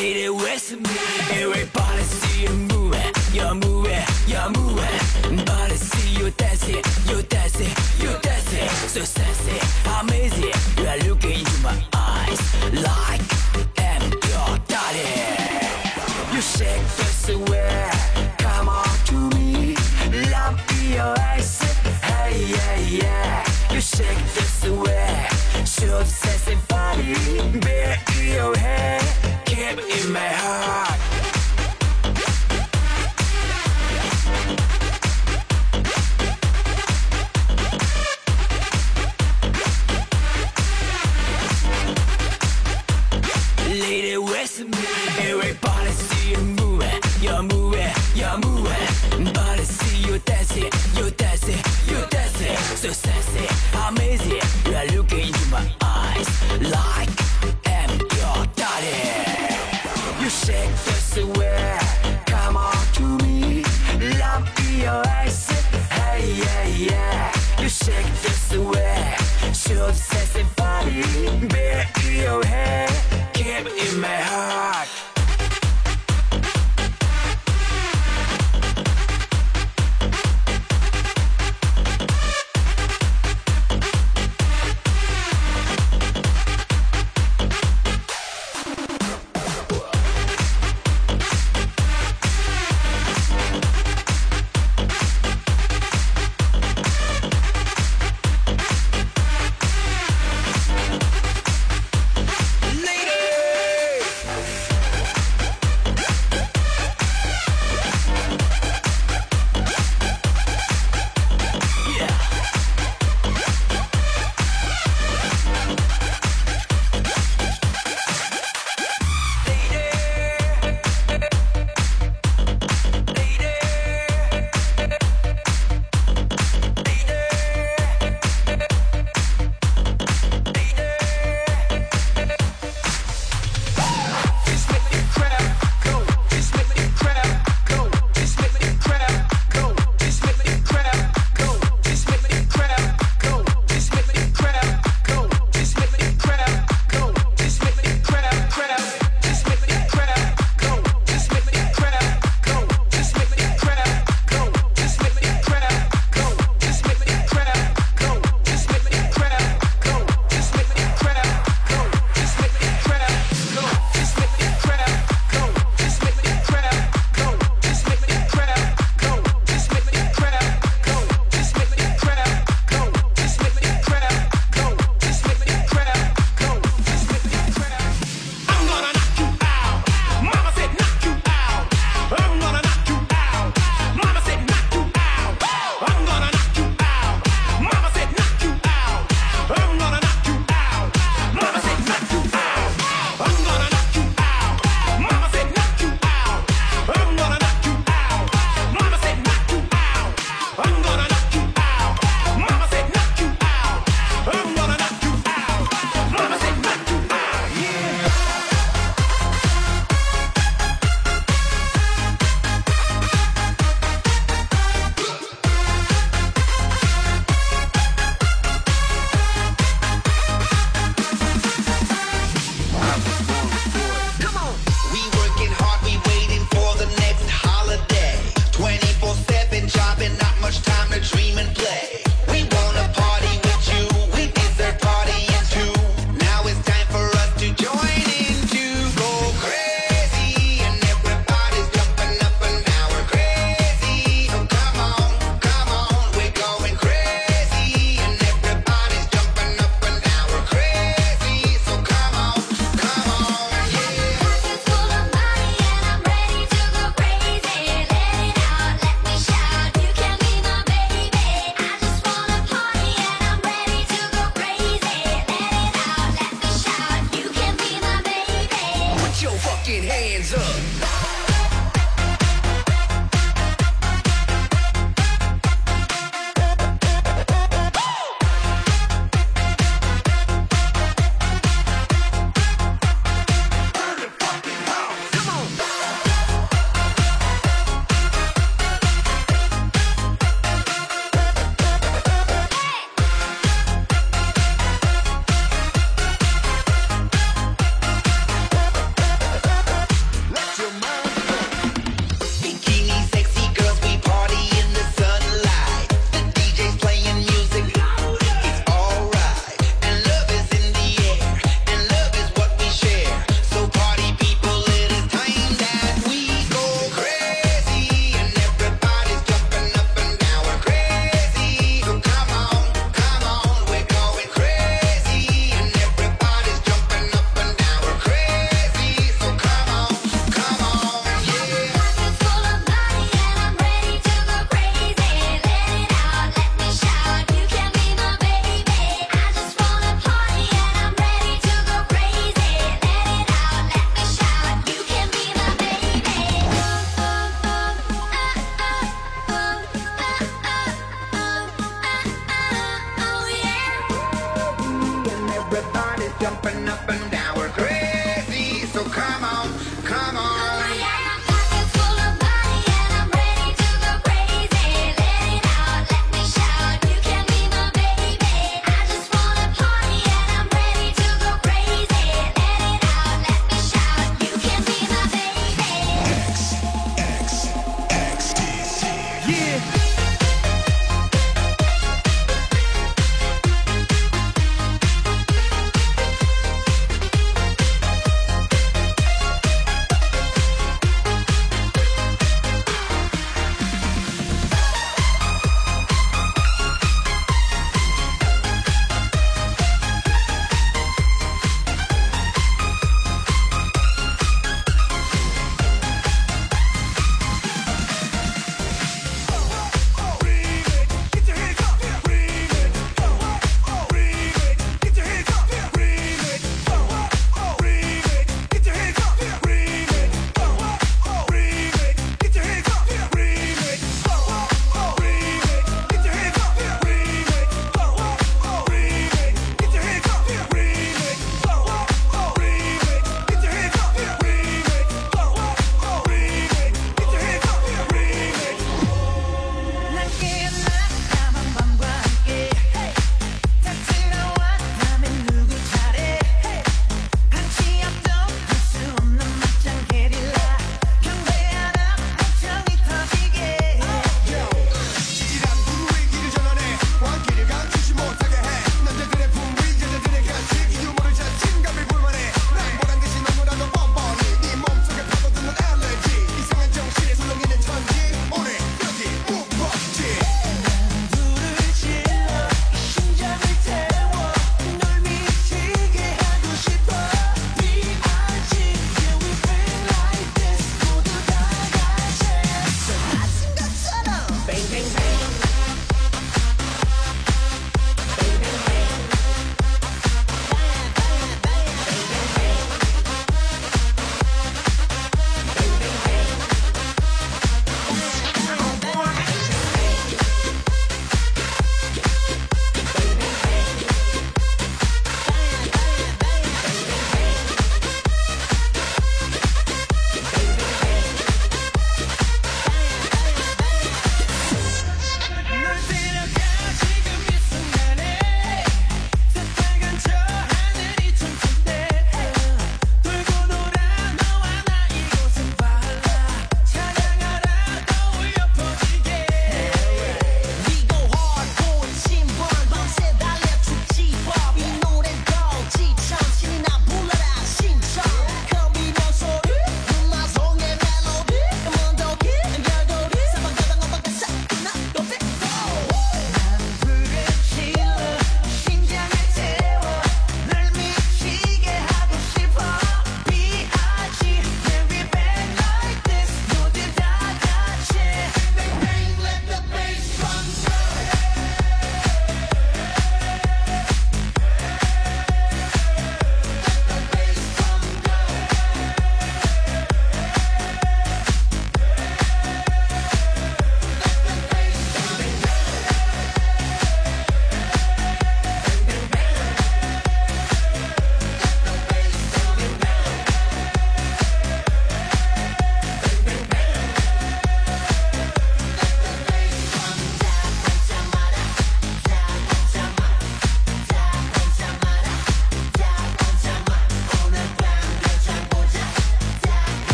Lady with me, everybody see you moving, you're moving, you're moving. Body see you dancing, you dancing, you dancing. So sexy, amazing. You are looking into my eyes like I'm your daddy. You shake this way, come on to me. Love in your eyes, hey yeah yeah. You shake this way, show sexy body. Bear in your head, keep in my heart. Lady with me, everybody see you moving, you're moving, you're moving. Body see you dancing, you dancing, you dancing. So sexy, amazing. You are looking into my eyes like I'm your daddy. You shake this way, come on to me. Love in your eyes, hey yeah yeah. You shake this way, show the sexy body. Bear in your head, keep in my heart.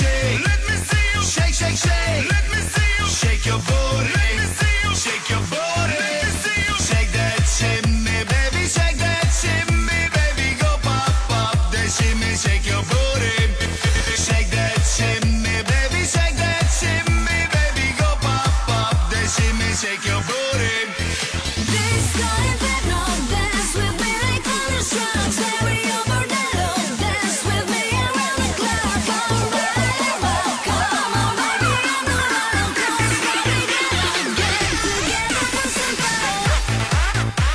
shake. Let me see you shake, shake, shake. Let me see you shake your booty. Let me see you shake your booty. Let me see you shake that shimmy, baby, shake that shimmy, baby, go pop, pop that shimmy, shake your booty. Shake that shimmy, baby, shake that shimmy, baby, go pop, pop that shimmy, shake your booty. This kind of no dance with me like thunderstruck. Stereo bordello, dance with me around the clock. Come on, come on, baby, I'm the one. Cause we get together for some fun.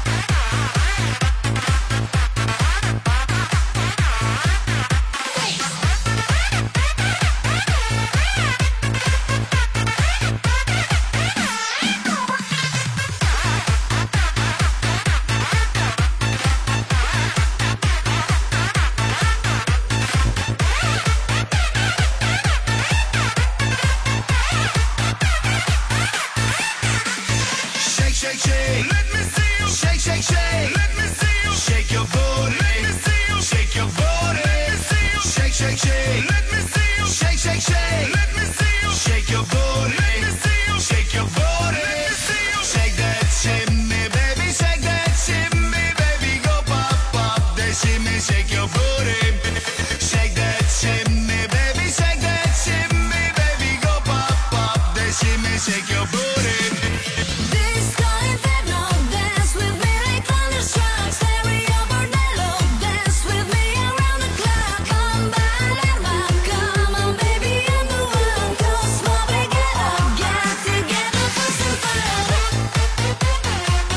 Shake, shake, shake. Let me see you shake, shake, shake. Let me see you shake your booty. Let me see you shake your booty. Let me see you shake, shake, shake. Let me see you shake, shake, shake. Let me see you shake your booty. Let me see you shake your booty. Let me see you shake that shimmy, baby, shake that shimmy, baby, go pop, pop that shimmy, shake your booty. Shake that shimmy, baby, shake that shimmy, baby, go pop, pop that shimmy, shake your booty. This kind of no dance with me like thunderstruck. Stereo bordello, dance with me around the clock. Come on, baby, I'm the one. Cause what we get together for some fun.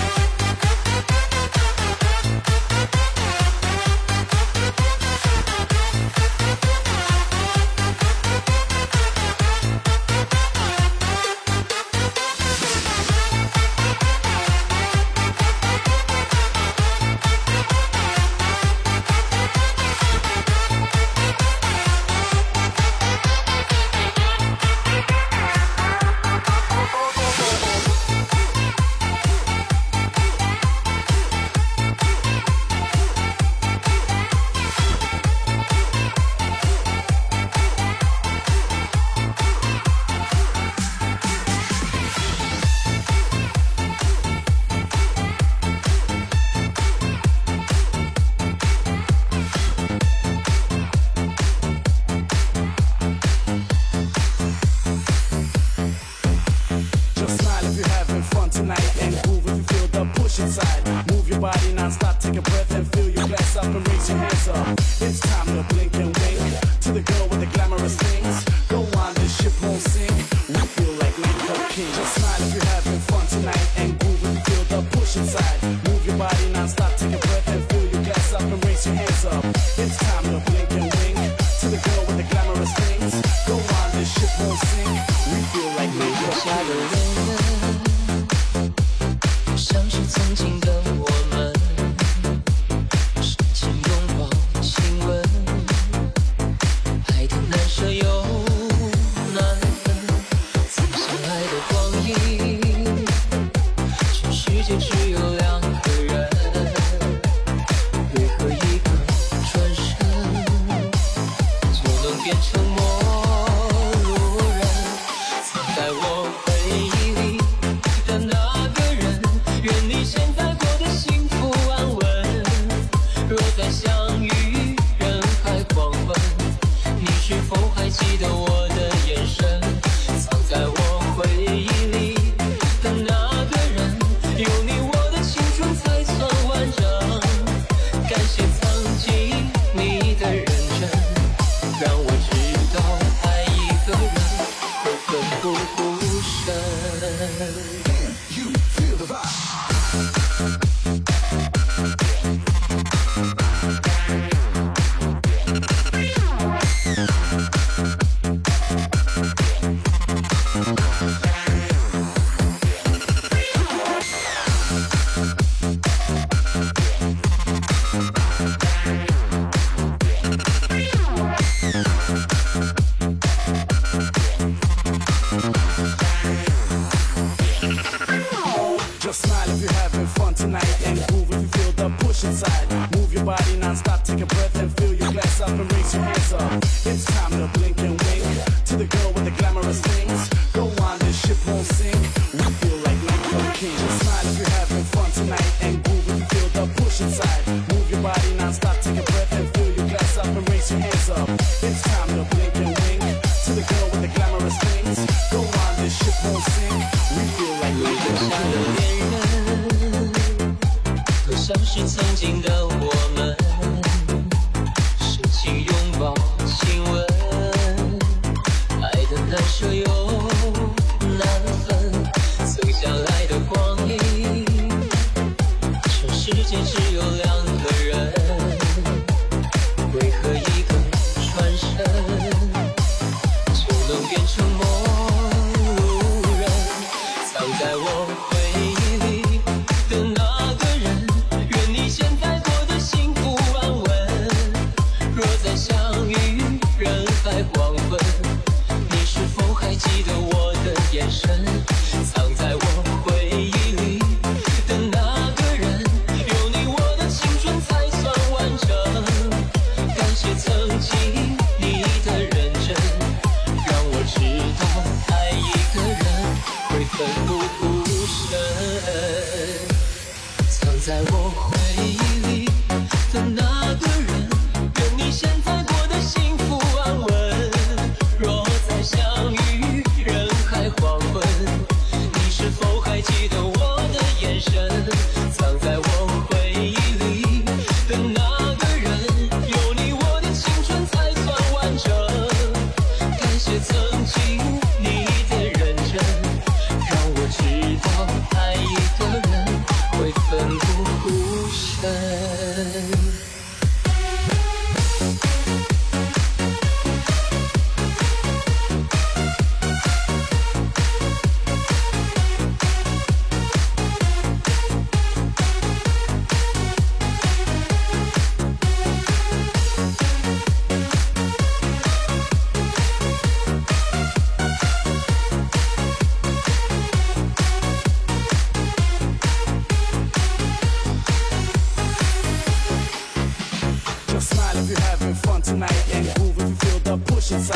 Just smile if you're having fun tonight and groove if you feel the push inside. Move your body non-stop, take a breath and fill your glass up and raise your hands up. It's time to blink and wink to the girl with the glamorous things. Go on, this ship won't sink. We feel like makeup king. Just smile if you're having fun tonight and groove if you feel the push inside. Move your body non-stop, take a breath and fill your glass up and raise your hands up. It's time to blink and wink to the girl with the glamorous things. Go on, this ship won't sink. We feel like makeup king. 像是曾经的我们，深情拥抱亲吻，爱的难舍又难分。曾相爱的光阴，全世界只有两个人，为何一个转身就能变成陌路人？藏在我回忆里的那个人，愿你现在过得幸福安稳。若再相遇人海黄昏，你是否还记得我的眼神？藏在我回忆里的那个人，有你我的青春才算完整。感谢曾经你的认真，让我知道爱一个人会奋不顾身。 You feel the vibe. Just smile if you're having fun tonight and groove if you feel the push inside. Move your body non-stop, take a breath and fill your glass up and raise your hands up. It's time to blink and wink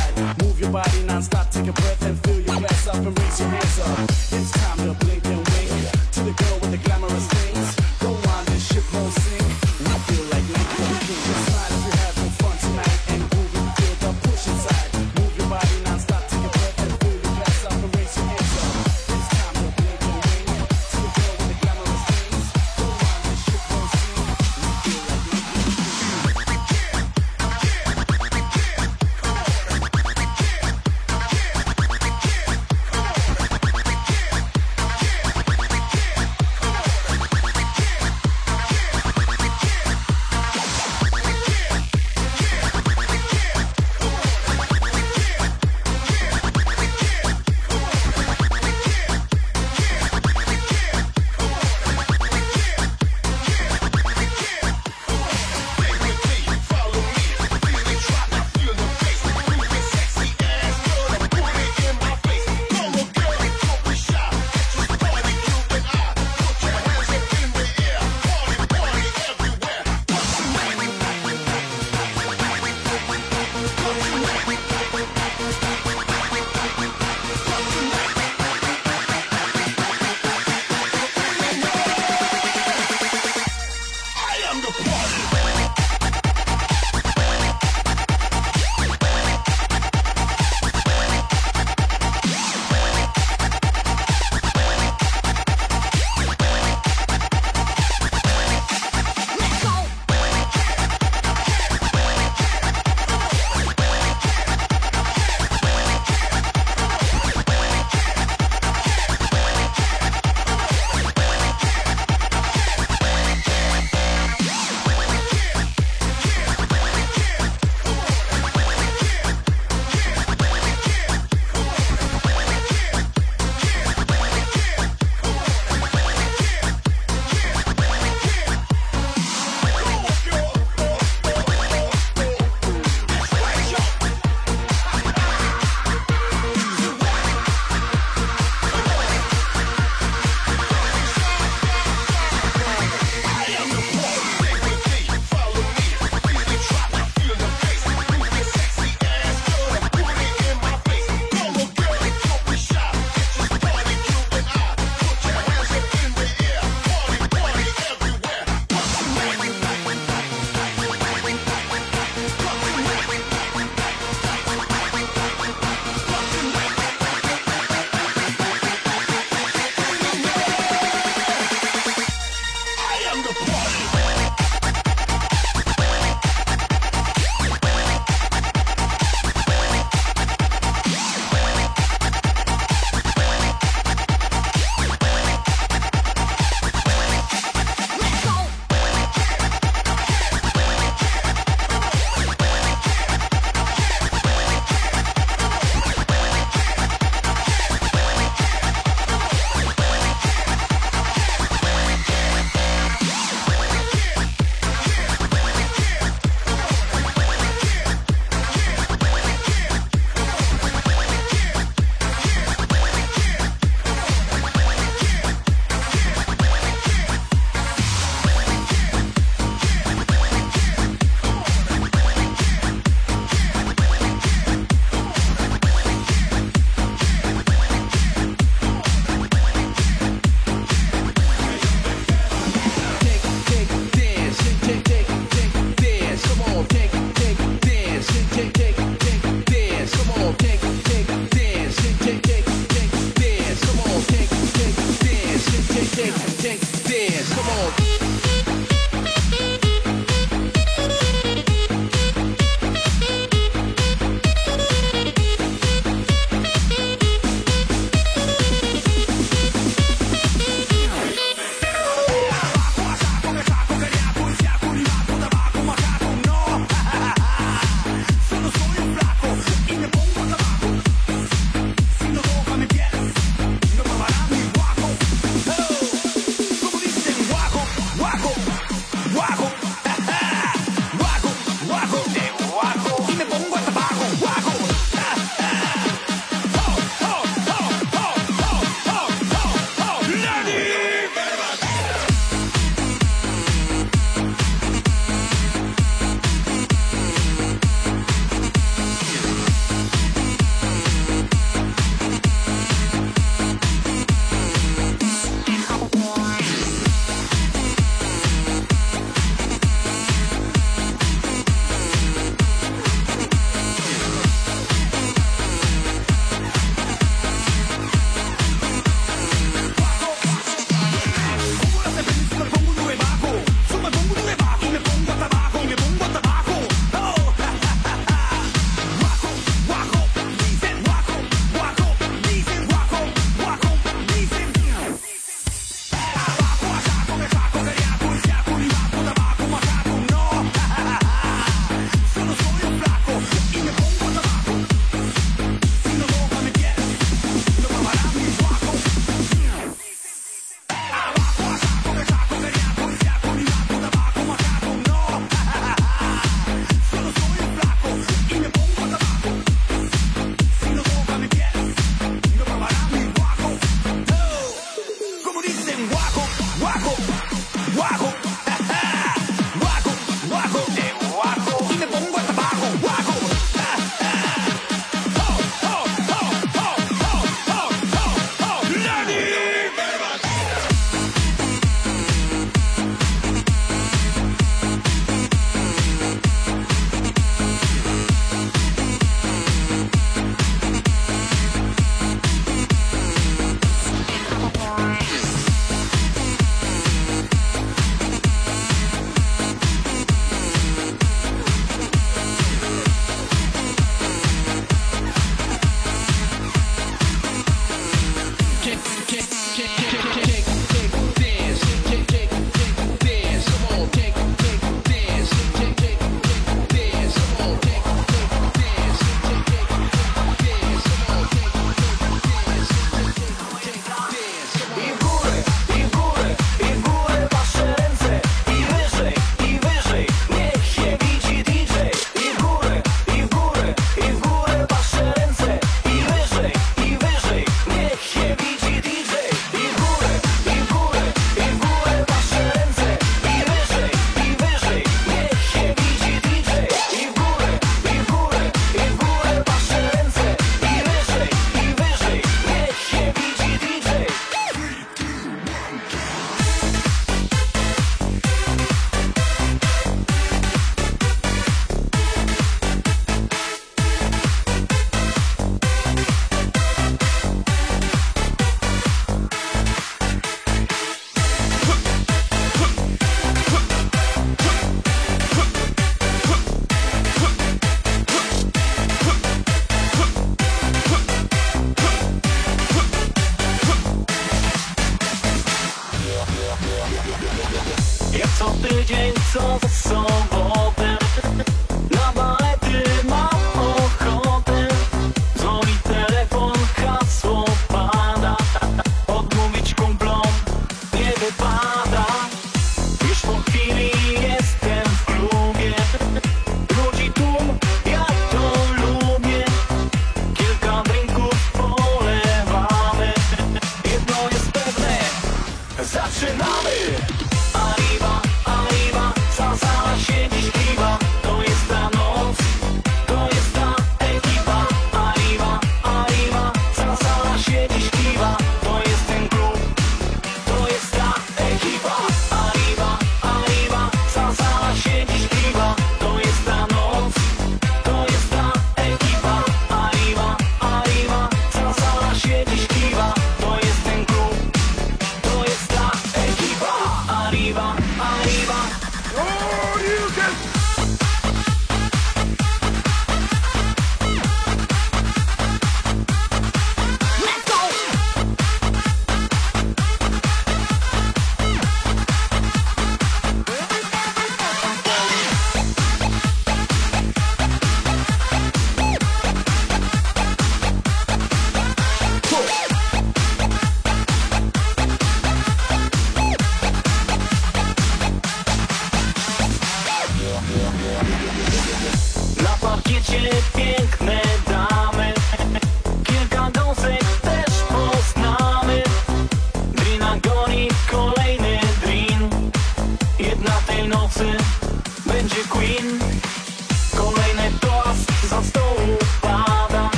inside. Move your body non-stop, take a breath and fill your glass up and raise your hands up. It's time to blink and wink to the girl with the glamorous things. Go on, this ship won't sink. We feel like Nightclub King. Just smile if you're having fun tonight and groove if you feel the push inside. Move your body non-stop, take a breath and fill your glass up and raise your hands up. It's time to blink and wink to the girl with the glamorous things. Go on, this ship won't sink. We feel like Nightclub King.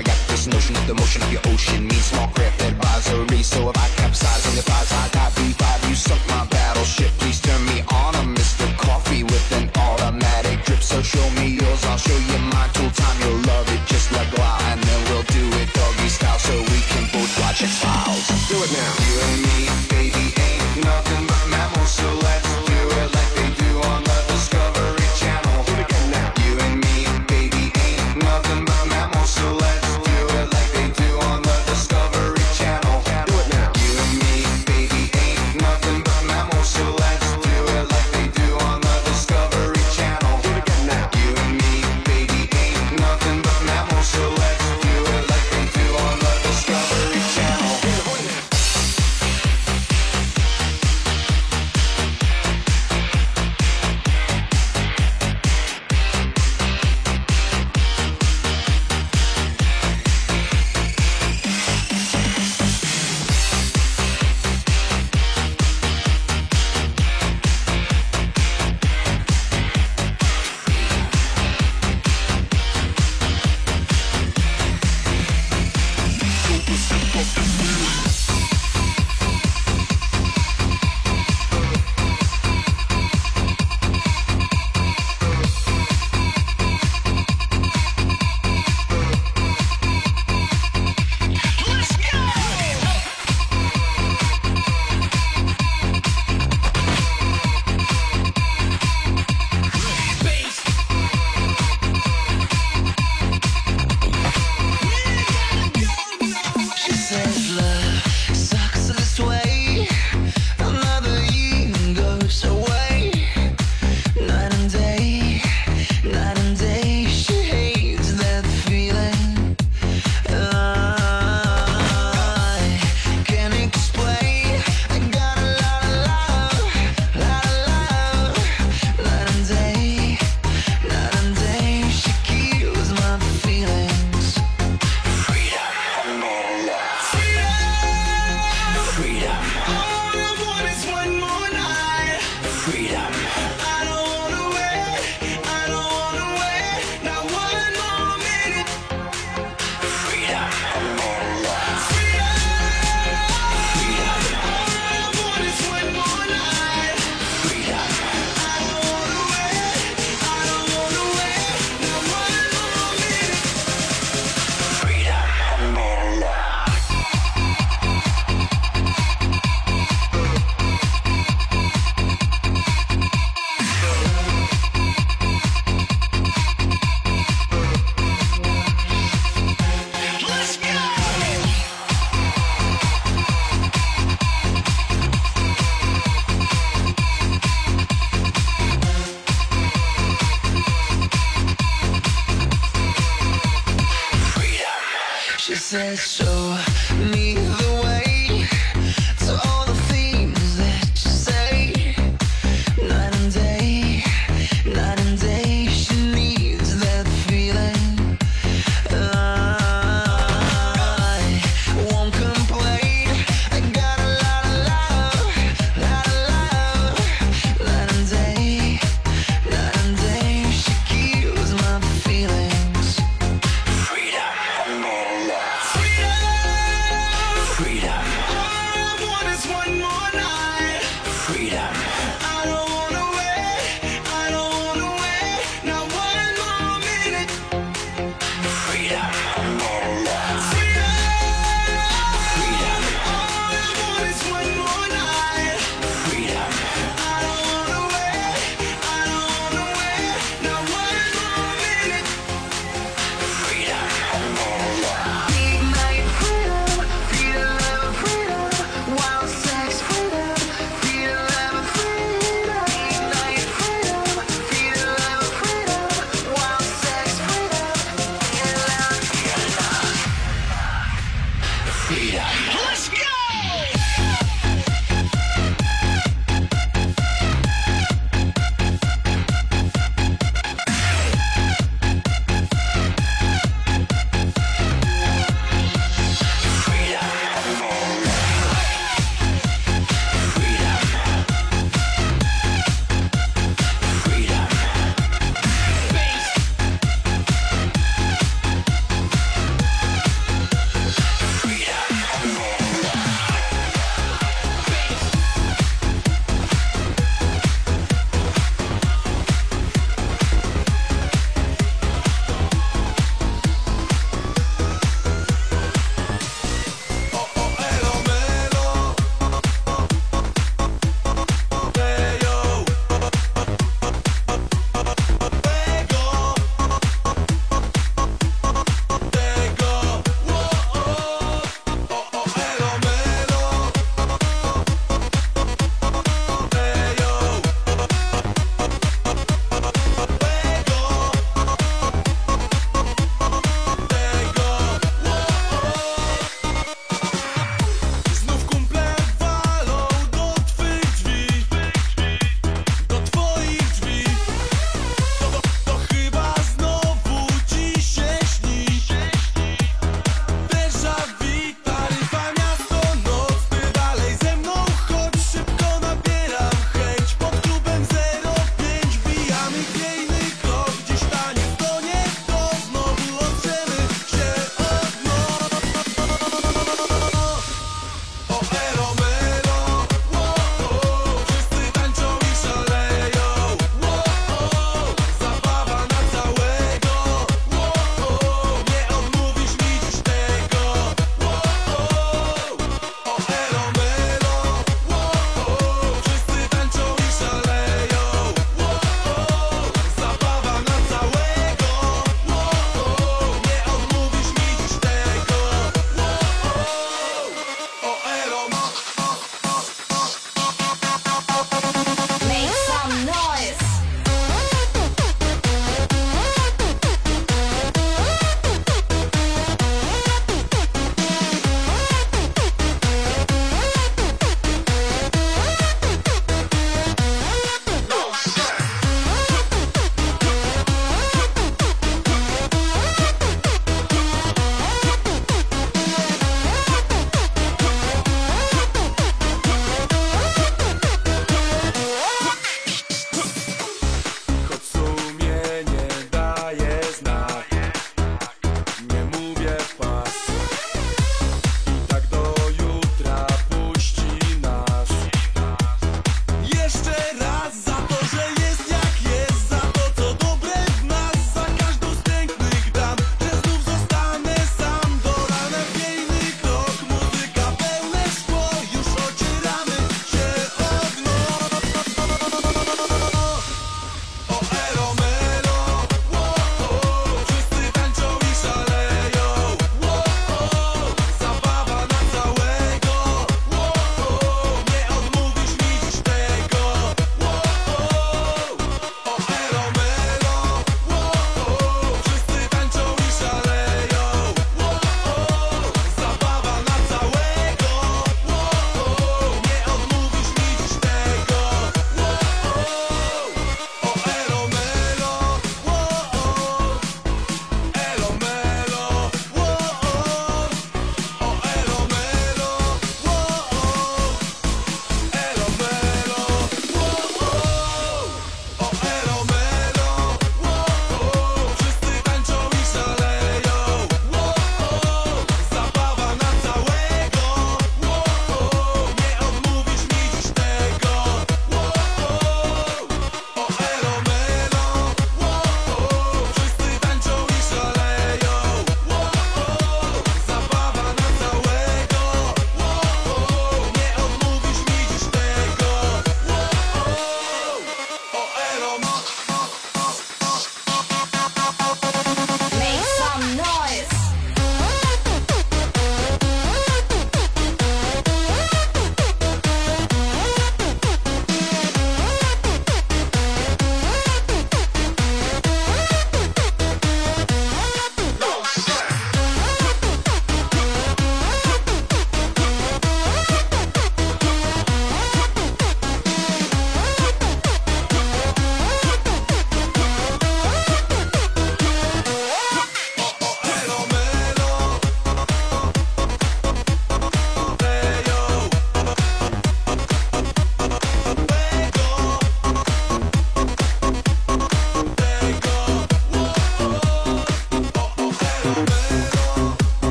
I got this notion that the motion of your ocean means small craft advisory. So if I capsize on your thighs, I got B5, you sunk my battleship. Please turn me on, I'm Mr. Coffee with an automatic drip. So show me yours, I'll show you mine. Tool time, you'll love it just like wow. And then we'll do it doggy style so we can both watch X-Files. Do it now. You and me, baby, ain't nothing but mammals. So let's do it like they do on the Discovery Channel. Do it again now. You and me, baby, ain't nothing but mammals. So let's do it like they do on the Discovery Channel. Do it now. You and me, baby, ain't nothing but mammals. So let's do it like they do on the Discovery Channel. Do it again now. You and me, baby, ain't nothing but mammals. So let's do it like they do on the Discovery Channel. She says love sucks this way. Another year goes away. Night and day, night and day. She hates that feeling. I can't explain. I got a lot of love, lot of love. Night and day, night and day. She kills my feelings. Freedom. Freedom. All I want is one more night. Freedom. I don't wanna wait. I don't wanna wait. Not one more minute. Freedom. Freedom. All I want is one more night. Freedom. I don't wanna wait. I don't wanna wait. Not one more minute. Freedom. Let's go. She says, show me the way to all the things that you say. Night and day, night and day. She needs that feeling. I won't complain. I got a lot of love, lot of love. Night and day, night and day. She kills my feelings. Freedom. Freedom.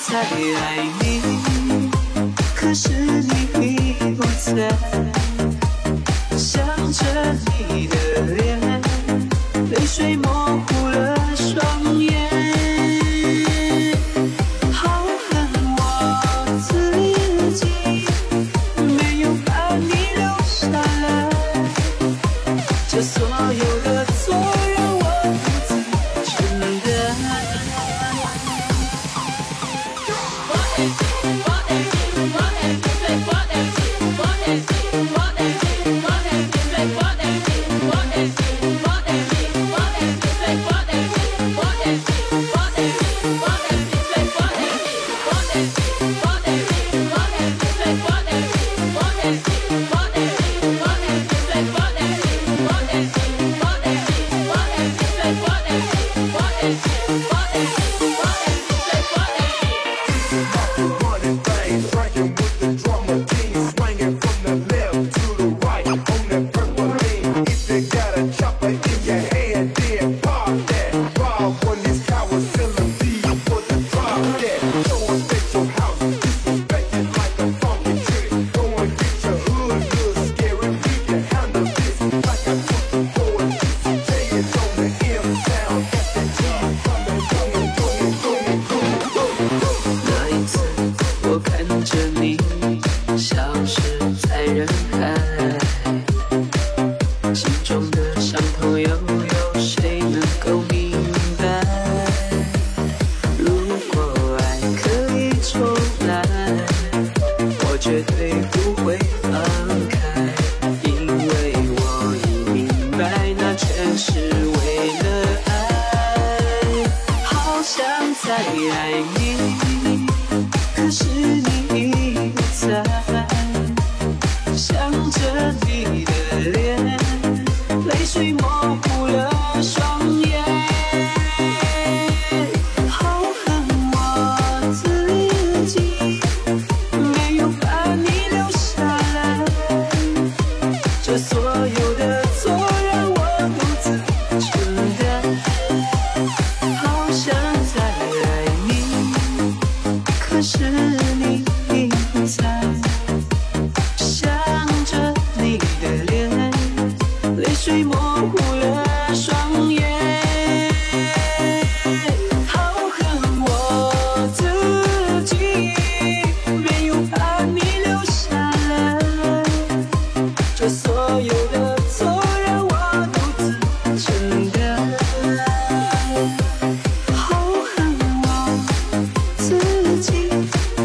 在爱你，可是你不在，想着你的脸，泪水模糊了双眼。好恨我自己，没有把你留下来，这所有的错让我独自承担。 Running things, drinking with the drummer team, swinging from the left to the right on that purple lane. If you got a chopper in your hand, then pop that. Rob when these cowards selling thieves for the drop that. Show us at your house, disrespected like a funky trick. Go and get your hood, little scary. We can handle this like I took the boys. Jay is on the M sound, got that G coming, coming, coming, coming, coming, coming. 那一次，我看着你消失在人海，心中的伤痛又有谁能够明白？如果爱可以重来，我绝对不会放开，因为我已明白，那全是为了爱。好想再爱你，可是你不在，想着你的脸，泪水模糊了双眼。好恨我自己，没有把你留下来，这所有的错让我独自承担。好想再爱你，可是你不在，想着你的脸，泪水模糊了双眼。好恨我自己，没有把你留下来，这所有的错让我独自承担。好恨我自己。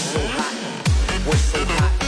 so hot. We're so hot.